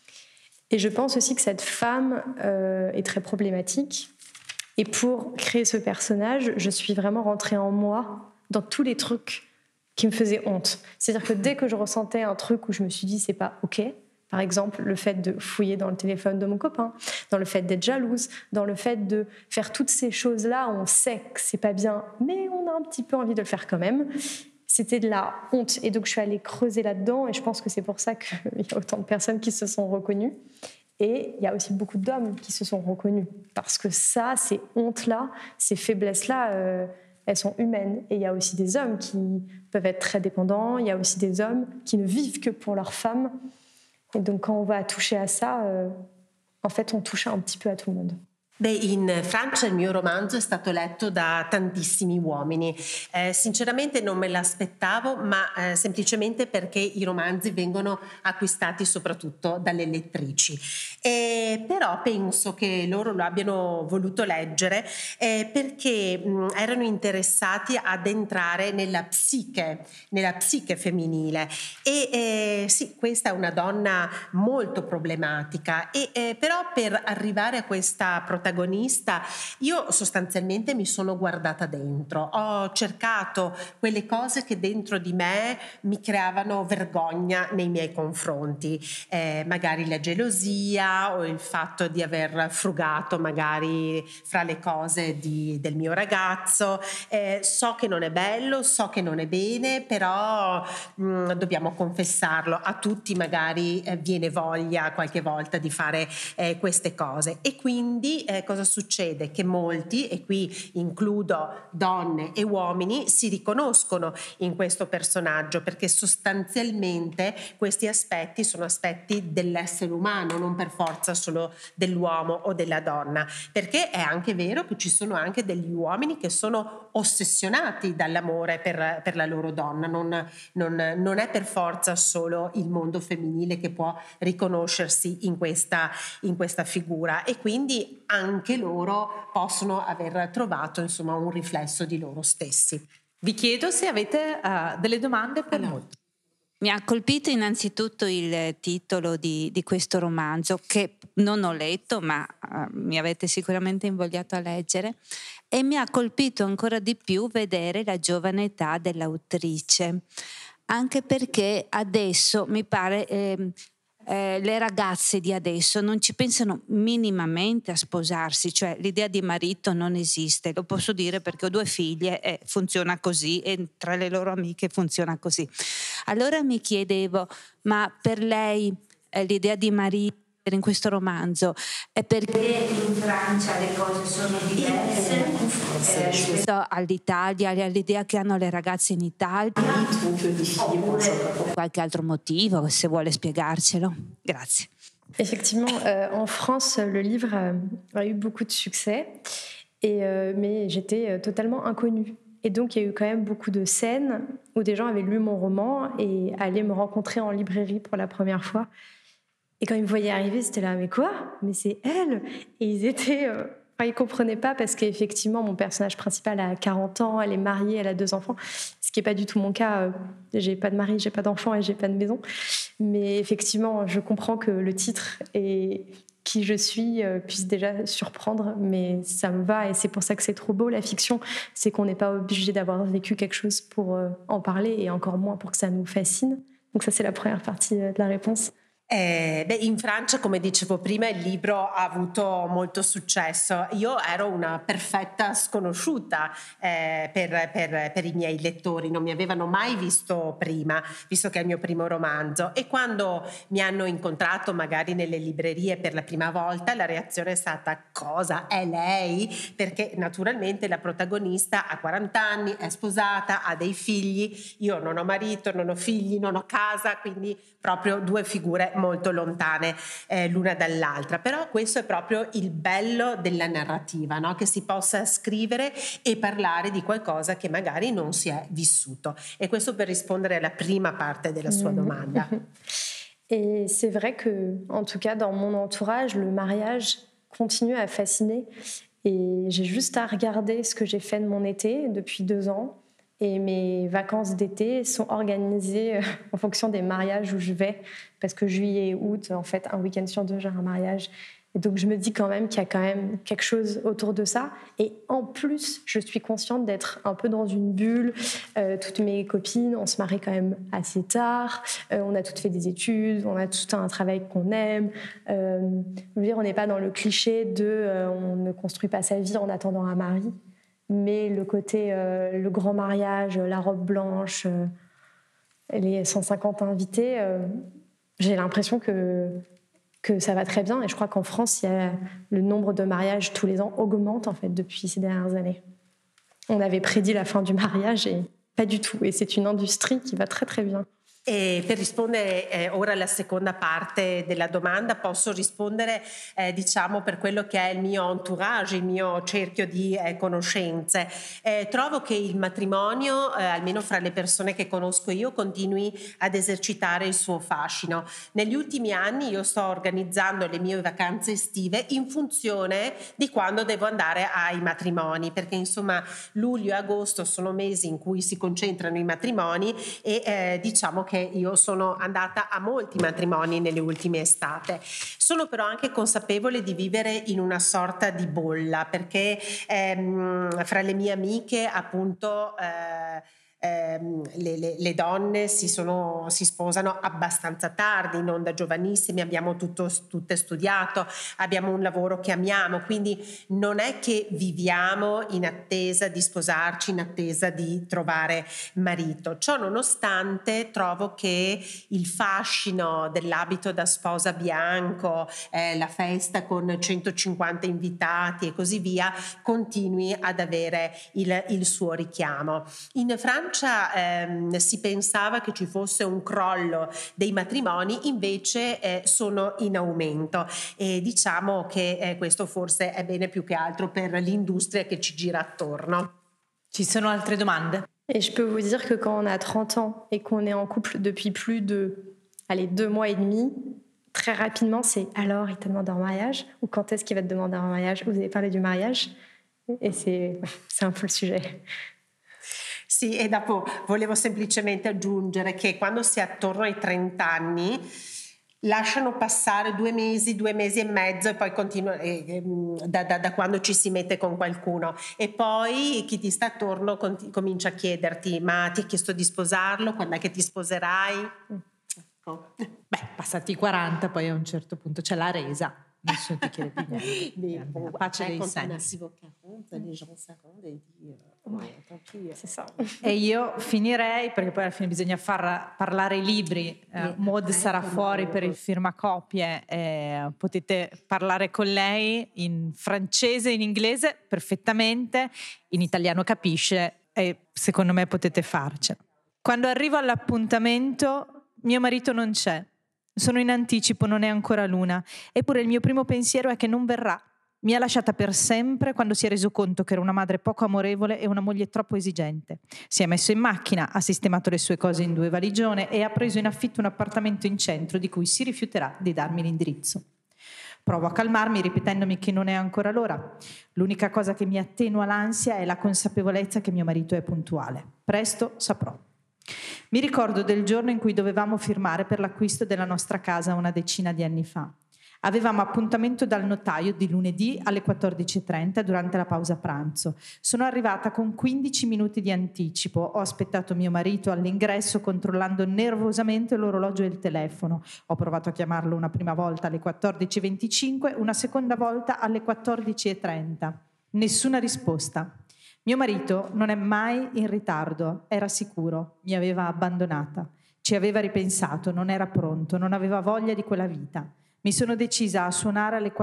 Et je pense aussi que cette femme est très problématique. Et pour créer ce personnage, je suis vraiment rentrée en moi dans tous les trucs qui me faisaient honte. C'est-à-dire que dès que je ressentais un truc où je me suis dit c'est pas OK, par exemple le fait de fouiller dans le téléphone de mon copain, dans le fait d'être jalouse, dans le fait de faire toutes ces choses-là où on sait que c'est pas bien, mais on a un petit peu envie de le faire quand même, c'était de la honte. Et donc je suis allée creuser là-dedans et je pense que c'est pour ça qu'il y a autant de personnes qui se sont reconnues. Et il y a aussi beaucoup d'hommes qui se sont reconnus. Parce que ça, ces hontes-là, ces faiblesses-là, elles sont humaines. Et il y a aussi des hommes qui peuvent être très dépendants. Il y a aussi des hommes qui ne vivent que pour leur femme. Et donc quand on va toucher à ça, en fait, on touche un petit peu à tout le monde.
In Francia il mio romanzo è stato letto da tantissimi uomini. Sinceramente non me l'aspettavo, ma semplicemente perché i romanzi vengono acquistati soprattutto dalle lettrici. Però penso che loro lo abbiano voluto leggere perché erano interessati ad entrare nella psiche femminile. E sì, questa è una donna molto problematica, però per arrivare a questa protagonista io sostanzialmente mi sono guardata dentro, ho cercato quelle cose che dentro di me mi creavano vergogna nei miei confronti, magari la gelosia o il fatto di aver frugato magari fra le cose del mio ragazzo. So che non è bello, so che non è bene, però dobbiamo confessarlo, a tutti magari viene voglia qualche volta di fare queste cose. E quindi cosa succede? Che molti, e qui includo donne e uomini, si riconoscono in questo personaggio perché sostanzialmente questi aspetti sono aspetti dell'essere umano, non per forza solo dell'uomo o della donna, perché è anche vero che ci sono anche degli uomini che sono ossessionati dall'amore per la loro donna, non è per forza solo il mondo femminile che può riconoscersi in questa figura, e quindi anche loro possono aver trovato insomma un riflesso di loro stessi.
Vi chiedo se avete delle domande per noi.
Mi ha colpito innanzitutto il titolo di questo romanzo, che non ho letto, ma mi avete sicuramente invogliato a leggere, e mi ha colpito ancora di più vedere la giovane età dell'autrice, anche perché adesso mi pare le ragazze di adesso non ci pensano minimamente a sposarsi, cioè l'idea di marito non esiste, lo posso dire perché ho 2 figlie e funziona così, e tra le loro amiche funziona così. Allora mi chiedevo, ma per lei l'idea di marito in questo romanzo è perché in Francia le cose sono diverse rispetto all'Italia, all'idea che hanno le ragazze in Italia, oppure qualche altro motivo, se vuole spiegarcelo. Grazie.
Effectivement, en France, le livre a eu beaucoup de succès, mais j'étais totalement inconnue. Et donc, il y a eu quand même beaucoup de scènes où des gens avaient lu mon roman et allaient me rencontrer en librairie pour la première fois. Et quand ils me voyaient arriver, c'était là, mais quoi ? Mais c'est elle ! Et ils étaient... ils comprenaient pas parce qu'effectivement, mon personnage principal a 40 ans, elle est mariée, elle a 2 enfants, ce qui n'est pas du tout mon cas. J'ai pas de mari, j'ai pas d'enfants et j'ai pas de maison. Mais effectivement, je comprends que le titre et qui je suis puisse déjà surprendre, mais ça me va et c'est pour ça que c'est trop beau la fiction, c'est qu'on n'est pas obligé d'avoir vécu quelque chose pour en parler et encore moins pour que ça nous fascine. Donc ça, c'est la première partie de la réponse.
In Francia, come dicevo prima, il libro ha avuto molto successo. Io ero una perfetta sconosciuta per i miei lettori, non mi avevano mai visto prima, visto che è il mio primo romanzo, e quando mi hanno incontrato magari nelle librerie per la prima volta, la reazione è stata: cosa? È lei? Perché naturalmente la protagonista ha 40 anni, è sposata, ha dei figli, io non ho marito, non ho figli, non ho casa, quindi proprio 2 figure molto lontane l'una dall'altra. Però questo è proprio il bello della narrativa, no? Che si possa scrivere e parlare di qualcosa che magari non si è vissuto. E questo per rispondere alla prima parte della sua domanda.
Et c'est vrai que, en tout cas, dans mon entourage, le mariage continue à fasciner. Et j'ai juste à regarder ce que j'ai fait de mon été depuis 2 ans. Et mes vacances d'été sont organisées en fonction des mariages où je vais. Parce que juillet et août, en fait, un week-end sur 2, j'ai un mariage. Et donc, je me dis quand même qu'il y a quand même quelque chose autour de ça. Et en plus, je suis consciente d'être un peu dans une bulle. Toutes mes copines, on se marie quand même assez tard. On a toutes fait des études. On a tout un travail qu'on aime. Je veux dire, on n'est pas dans le cliché de on ne construit pas sa vie en attendant un mari. Mais le côté, le grand mariage, la robe blanche, les 150 invités, j'ai l'impression que ça va très bien. Et je crois qu'en France, le nombre de mariages tous les ans augmente en fait depuis ces dernières années. On avait prédit la fin du mariage et pas du tout. Et c'est une industrie qui va très très bien.
E per rispondere ora alla seconda parte della domanda, posso rispondere diciamo per quello che è il mio entourage, il mio cerchio di conoscenze. Trovo che il matrimonio, almeno fra le persone che conosco io, continui ad esercitare il suo fascino. Negli ultimi anni io sto organizzando le mie vacanze estive in funzione di quando devo andare ai matrimoni, perché insomma luglio e agosto sono mesi in cui si concentrano i matrimoni e diciamo che io sono andata a molti matrimoni nelle ultime estate. Sono però anche consapevole di vivere in una sorta di bolla, perché fra le mie amiche appunto le donne si sposano abbastanza tardi, non da giovanissimi, abbiamo tutte studiato, abbiamo un lavoro che amiamo, quindi non è che viviamo in attesa di sposarci, in attesa di trovare marito. Ciò nonostante trovo che il fascino dell'abito da sposa bianco, la festa con 150 invitati e così via continui ad avere il suo richiamo. In Francia si pensava che ci fosse un crollo dei matrimoni, invece sono in aumento e diciamo che questo forse è bene più che altro per l'industria che ci gira attorno.
Ci sono altre domande?
Et je peux vous dire que quand on a 30 ans et qu'on est en couple depuis plus de 2 mois et demi, très rapidement c'est alors il te demande un mariage ou quand est-ce qu'il va te demander un mariage? Vous avez parlé du mariage et c'est un peu le sujet.
Sì, e dopo volevo semplicemente aggiungere che quando si è attorno ai 30 anni lasciano passare 2 mesi e mezzo e poi continua da quando ci si mette con qualcuno e poi chi ti sta attorno comincia a chiederti: ma ti ha chiesto di sposarlo? Quando è che ti sposerai?
Beh, passati i 40, poi a un certo punto c'è la resa. Nessuno ti chiede più niente. La pace dei sensi. E io finirei, perché poi alla fine bisogna far parlare i libri. Maud sarà fuori per il firmacopie, potete parlare con lei in francese, in inglese perfettamente, in italiano capisce e secondo me potete farcela. Quando arrivo all'appuntamento mio marito non c'è. Sono in anticipo, non è ancora l'una. Eppure il mio primo pensiero è che non verrà. Mi ha lasciata per sempre quando si è reso conto che era una madre poco amorevole e una moglie troppo esigente. Si è messo in macchina, ha sistemato le sue cose in 2 valigione e ha preso in affitto un appartamento in centro di cui si rifiuterà di darmi l'indirizzo. Provo a calmarmi ripetendomi che non è ancora l'ora. L'unica cosa che mi attenua l'ansia è la consapevolezza che mio marito è puntuale. Presto saprò. Mi ricordo del giorno in cui dovevamo firmare per l'acquisto della nostra casa una decina di anni fa. Avevamo appuntamento dal notaio di lunedì alle 14:30 durante la pausa pranzo. Sono arrivata con 15 minuti di anticipo. Ho aspettato mio marito all'ingresso controllando nervosamente l'orologio e il telefono. Ho provato a chiamarlo una prima volta alle 14:25, una seconda volta alle 14:30. Nessuna risposta. Mio marito non è mai in ritardo, era sicuro, mi aveva abbandonata, ci aveva ripensato, non era pronto, non aveva voglia di quella vita. Mi sono decisa a suonare alle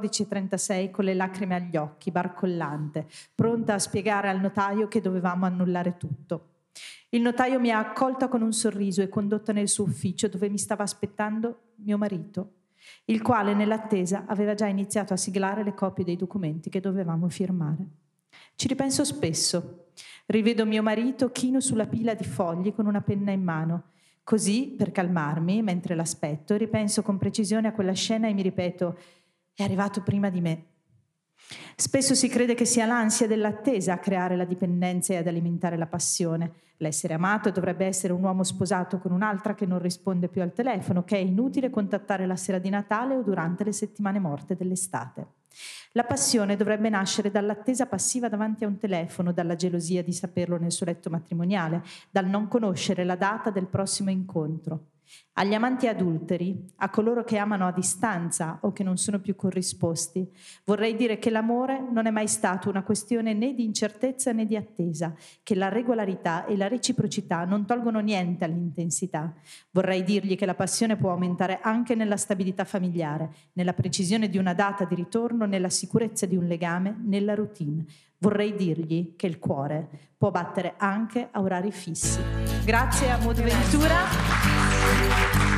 14:36 con le lacrime agli occhi, barcollante, pronta a spiegare al notaio che dovevamo annullare tutto. Il notaio mi ha accolta con un sorriso e condotta nel suo ufficio dove mi stava aspettando mio marito, il quale nell'attesa aveva già iniziato a siglare le copie dei documenti che dovevamo firmare. Ci ripenso spesso. Rivedo mio marito chino sulla pila di fogli con una penna in mano. Così, per calmarmi, mentre l'aspetto, ripenso con precisione a quella scena e mi ripeto: è arrivato prima di me. Spesso si crede che sia l'ansia dell'attesa a creare la dipendenza e ad alimentare la passione. L'essere amato dovrebbe essere un uomo sposato con un'altra che non risponde più al telefono, che è inutile contattare la sera di Natale o durante le settimane morte dell'estate. La passione dovrebbe nascere dall'attesa passiva davanti a un telefono, dalla gelosia di saperlo nel suo letto matrimoniale, dal non conoscere la data del prossimo incontro. Agli amanti adulteri, a coloro che amano a distanza o che non sono più corrisposti, vorrei dire che l'amore non è mai stato una questione né di incertezza né di attesa, che la regolarità e la reciprocità non tolgono niente all'intensità. Vorrei dirgli che la passione può aumentare anche nella stabilità familiare, nella precisione di una data di ritorno, nella sicurezza di un legame, nella routine. Vorrei dirgli che il cuore può battere anche a orari fissi. Grazie a Maud Ventura.